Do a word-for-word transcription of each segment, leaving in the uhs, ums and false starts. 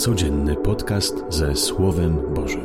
Codzienny podcast ze Słowem Bożym.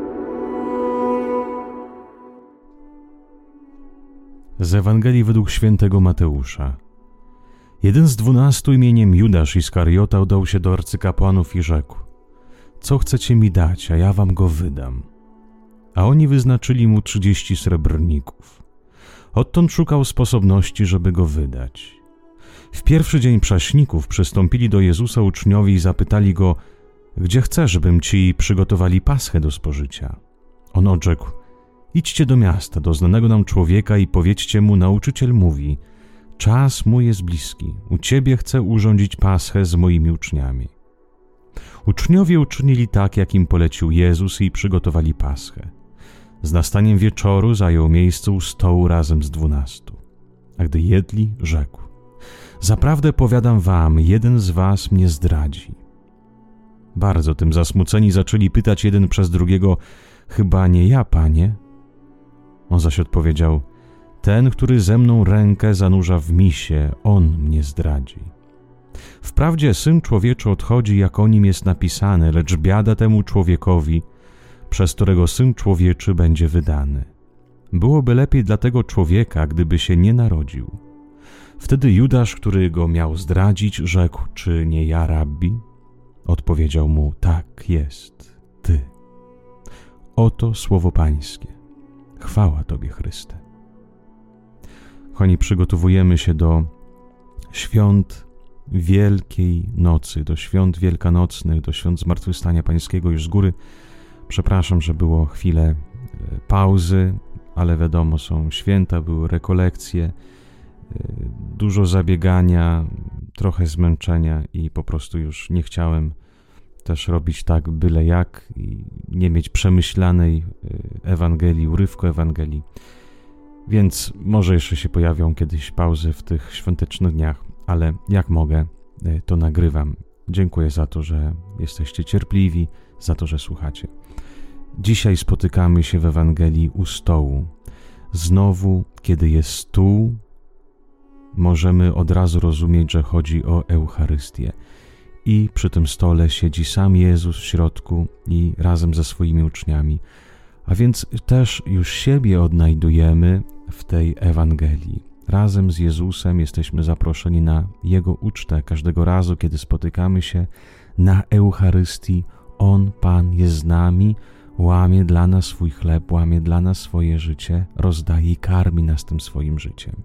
Z Ewangelii według świętego Mateusza. Jeden z dwunastu imieniem Judasz Iskariota udał się do arcykapłanów i rzekł: Co chcecie mi dać, a ja wam go wydam? A oni wyznaczyli mu trzydzieści srebrników. Odtąd szukał sposobności, żeby go wydać. W pierwszy dzień prześników przystąpili do Jezusa uczniowie i zapytali go: Gdzie chcesz, żebym ci przygotowali paschę do spożycia? On odrzekł: Idźcie do miasta, do znanego nam człowieka i powiedzcie mu: Nauczyciel mówi: Czas mój jest bliski, u ciebie chcę urządzić paschę z moimi uczniami. Uczniowie uczynili tak, jak im polecił Jezus, i przygotowali paschę. Z nastaniem wieczoru zajął miejsce u stołu razem z dwunastu. A gdy jedli, rzekł: Zaprawdę powiadam wam, jeden z was mnie zdradzi. Bardzo tym zasmuceni zaczęli pytać jeden przez drugiego: Chyba nie ja, Panie? On zaś odpowiedział: Ten, który ze mną rękę zanurza w misie, on mnie zdradzi. Wprawdzie Syn Człowieczy odchodzi, jak o nim jest napisane, lecz biada temu człowiekowi, przez którego Syn Człowieczy będzie wydany. Byłoby lepiej dla tego człowieka, gdyby się nie narodził. Wtedy Judasz, który go miał zdradzić, rzekł: Czy nie ja, Rabbi? Odpowiedział mu: Tak jest, ty. Oto słowo Pańskie. Chwała Tobie, Chryste. Kochani, przygotowujemy się do świąt Wielkiej Nocy, do świąt wielkanocnych, do świąt Zmartwychwstania Pańskiego. Już z góry przepraszam, że było chwilę pauzy, ale wiadomo, są święta, były rekolekcje, dużo zabiegania, trochę zmęczenia i po prostu już nie chciałem też robić tak byle jak i nie mieć przemyślanej Ewangelii, urywku Ewangelii. Więc może jeszcze się pojawią kiedyś pauzy w tych świątecznych dniach, ale jak mogę, to nagrywam. Dziękuję za to, że jesteście cierpliwi, za to, że słuchacie. Dzisiaj spotykamy się w Ewangelii u stołu. Znowu, kiedy jest stół, możemy od razu rozumieć, że chodzi o Eucharystię. I przy tym stole siedzi sam Jezus w środku i razem ze swoimi uczniami. A więc też już siebie odnajdujemy w tej Ewangelii. Razem z Jezusem jesteśmy zaproszeni na Jego ucztę. Każdego razu, kiedy spotykamy się na Eucharystii, On, Pan, jest z nami, łamie dla nas swój chleb, łamie dla nas swoje życie, rozdaje i karmi nas tym swoim życiem.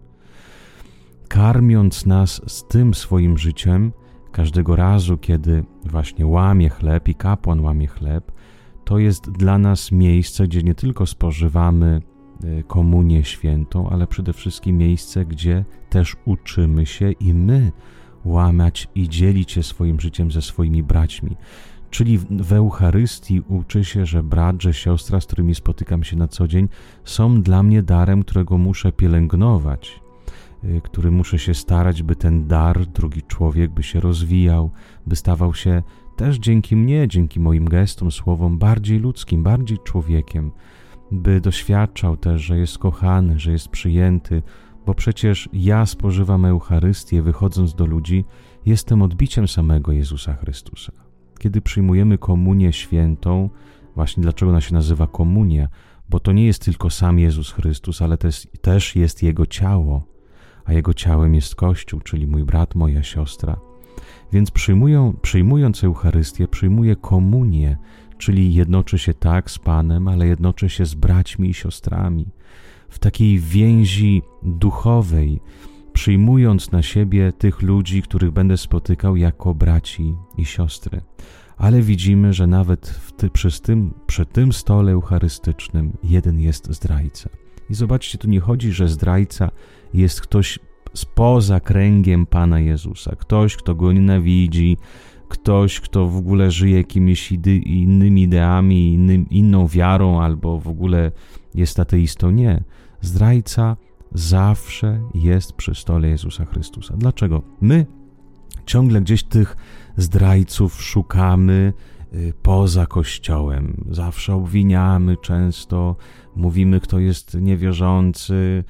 Karmiąc nas z tym swoim życiem, każdego razu, kiedy właśnie łamie chleb i kapłan łamie chleb, to jest dla nas miejsce, gdzie nie tylko spożywamy komunię świętą, ale przede wszystkim miejsce, gdzie też uczymy się i my łamać i dzielić się swoim życiem ze swoimi braćmi. Czyli w Eucharystii uczy się, że brat, że siostra, z którymi spotykam się na co dzień, są dla mnie darem, którego muszę pielęgnować, który muszę się starać, by ten dar, drugi człowiek, by się rozwijał, by stawał się też dzięki mnie, dzięki moim gestom, słowom bardziej ludzkim, bardziej człowiekiem, by doświadczał też, że jest kochany, że jest przyjęty, bo przecież ja spożywam Eucharystię, wychodząc do ludzi, jestem odbiciem samego Jezusa Chrystusa. Kiedy przyjmujemy komunię świętą, właśnie dlaczego ona się nazywa komunia, bo to nie jest tylko sam Jezus Chrystus, ale też, też jest Jego ciało, a Jego ciałem jest Kościół, czyli mój brat, moja siostra. Więc przyjmują, przyjmując Eucharystię, przyjmuję komunię, czyli jednoczy się tak z Panem, ale jednoczy się z braćmi i siostrami. W takiej więzi duchowej, przyjmując na siebie tych ludzi, których będę spotykał jako braci i siostry. Ale widzimy, że nawet w ty, przy, tym, przy tym stole eucharystycznym jeden jest zdrajca. I zobaczcie, tu nie chodzi, że zdrajca jest ktoś spoza kręgiem Pana Jezusa, ktoś, kto go nienawidzi, ktoś, kto w ogóle żyje jakimiś ide- innymi ideami, innym, inną wiarą albo w ogóle jest ateistą. Nie. Zdrajca zawsze jest przy stole Jezusa Chrystusa. Dlaczego? My ciągle gdzieś tych zdrajców szukamy poza Kościołem. Zawsze obwiniamy często, mówimy, kto jest niewierzący,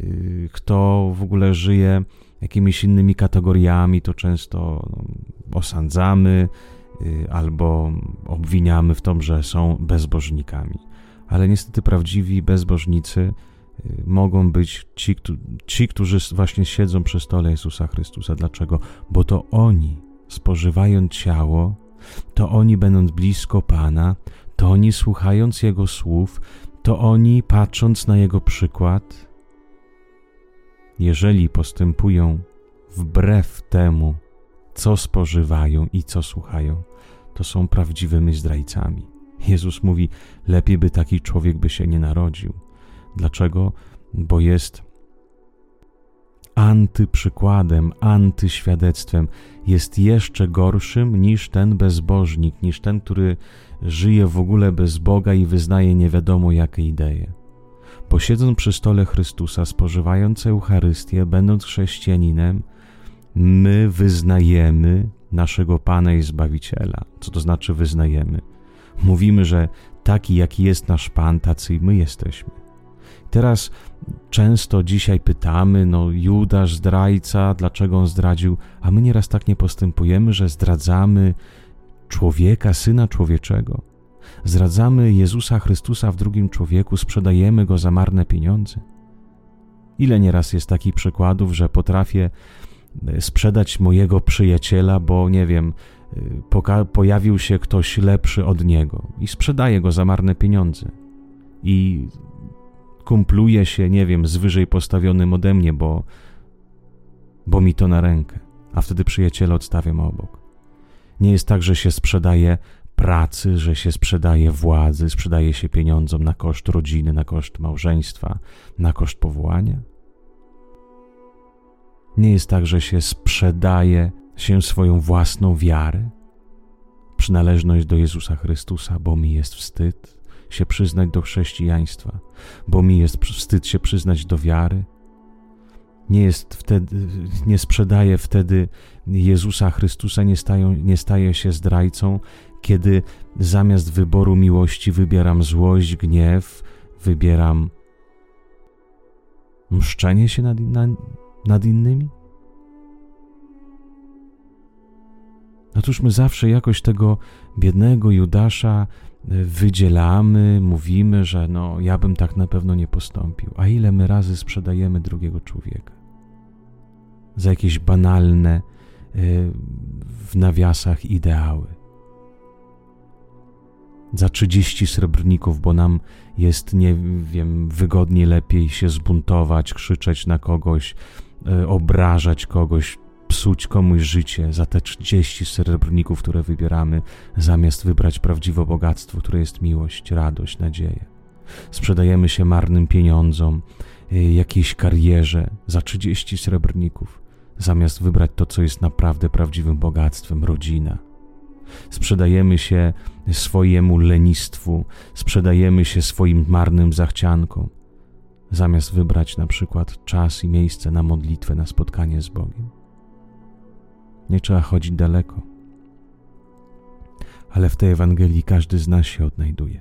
kto w ogóle żyje jakimiś innymi kategoriami, to często no, osądzamy, albo obwiniamy w tym, że są bezbożnikami. Ale niestety prawdziwi bezbożnicy mogą być ci, ci, którzy właśnie siedzą przy stole Jezusa Chrystusa. Dlaczego? Bo to oni, spożywając ciało, to oni, będąc blisko Pana, to oni, słuchając Jego słów, to oni, patrząc na Jego przykład, jeżeli postępują wbrew temu, co spożywają i co słuchają, to są prawdziwymi zdrajcami. Jezus mówi, lepiej by taki człowiek by się nie narodził. Dlaczego? Bo jest antyprzykładem, antyświadectwem. Jest jeszcze gorszym niż ten bezbożnik, niż ten, który żyje w ogóle bez Boga i wyznaje nie wiadomo jakie idee. Bo siedząc przy stole Chrystusa, spożywając Eucharystię, będąc chrześcijaninem, my wyznajemy naszego Pana i Zbawiciela. Co to znaczy wyznajemy? Mówimy, że taki jaki jest nasz Pan, tacy i my jesteśmy. Teraz często dzisiaj pytamy, no Judasz, zdrajca, dlaczego on zdradził? A my nieraz tak nie postępujemy, że zdradzamy człowieka, Syna Człowieczego. Zdradzamy Jezusa Chrystusa w drugim człowieku, sprzedajemy Go za marne pieniądze. Ile nieraz jest takich przykładów, że potrafię sprzedać mojego przyjaciela, bo nie wiem, poka- pojawił się ktoś lepszy od niego i sprzedaję go za marne pieniądze i kumpluje się, nie wiem, z wyżej postawionym ode mnie, bo, bo mi to na rękę, a wtedy przyjaciela odstawiam obok. Nie jest tak, że się sprzedaje pracy, że się sprzedaje władzy, sprzedaje się pieniądzom na koszt rodziny, na koszt małżeństwa, na koszt powołania. Nie jest tak, że się sprzedaje się swoją własną wiarę, przynależność do Jezusa Chrystusa, bo mi jest wstyd się przyznać do chrześcijaństwa, bo mi jest wstyd się przyznać do wiary. Nie jest wtedy, nie sprzedaje wtedy Jezusa Chrystusa, nie, stają, nie staje się zdrajcą, kiedy zamiast wyboru miłości wybieram złość, gniew, wybieram mszczenie się nad, nad, nad innymi. Otóż my zawsze jakoś tego biednego Judasza wydzielamy, mówimy, że no ja bym tak na pewno nie postąpił. A ile my razy sprzedajemy drugiego człowieka za jakieś banalne w nawiasach ideały. Za trzydzieści srebrników, bo nam jest, nie wiem, wygodniej, lepiej się zbuntować, krzyczeć na kogoś, obrażać kogoś, psuć komuś życie za te trzydzieści srebrników, które wybieramy, zamiast wybrać prawdziwe bogactwo, które jest miłość, radość, nadzieja. Sprzedajemy się marnym pieniądzom, jakiejś karierze za trzydzieści srebrników, zamiast wybrać to, co jest naprawdę prawdziwym bogactwem, rodzina. Sprzedajemy się swojemu lenistwu, sprzedajemy się swoim marnym zachciankom, zamiast wybrać na przykład czas i miejsce na modlitwę, na spotkanie z Bogiem. Nie trzeba chodzić daleko, ale w tej Ewangelii każdy z nas się odnajduje.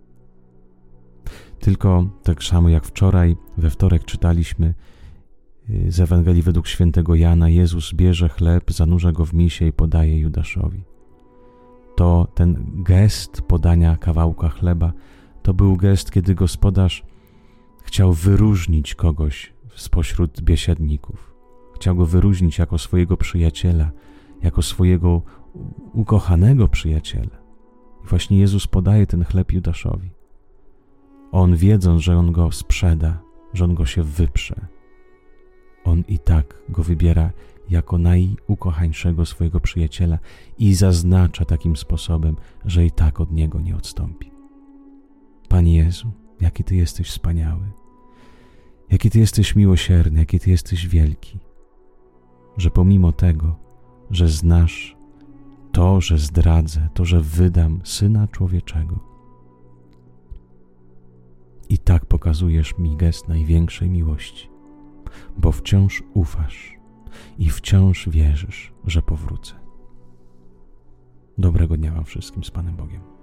Tylko tak samo jak wczoraj, we wtorek czytaliśmy z Ewangelii według świętego Jana, Jezus bierze chleb, zanurza go w misie i podaje Judaszowi. To ten gest podania kawałka chleba, to był gest, kiedy gospodarz chciał wyróżnić kogoś spośród biesiadników. Chciał go wyróżnić jako swojego przyjaciela, jako swojego ukochanego przyjaciela. I właśnie Jezus podaje ten chleb Judaszowi. On, wiedząc, że on go sprzeda, że on go się wyprze, on i tak go wybiera jako najukochańszego swojego przyjaciela i zaznacza takim sposobem, że i tak od niego nie odstąpi. Panie Jezu, jaki Ty jesteś wspaniały, jaki Ty jesteś miłosierny, jaki Ty jesteś wielki, że pomimo tego, że znasz to, że zdradzę, to, że wydam Syna Człowieczego, i tak pokazujesz mi gest największej miłości, bo wciąż ufasz i wciąż wierzysz, że powrócę. Dobrego dnia Wam wszystkim z Panem Bogiem.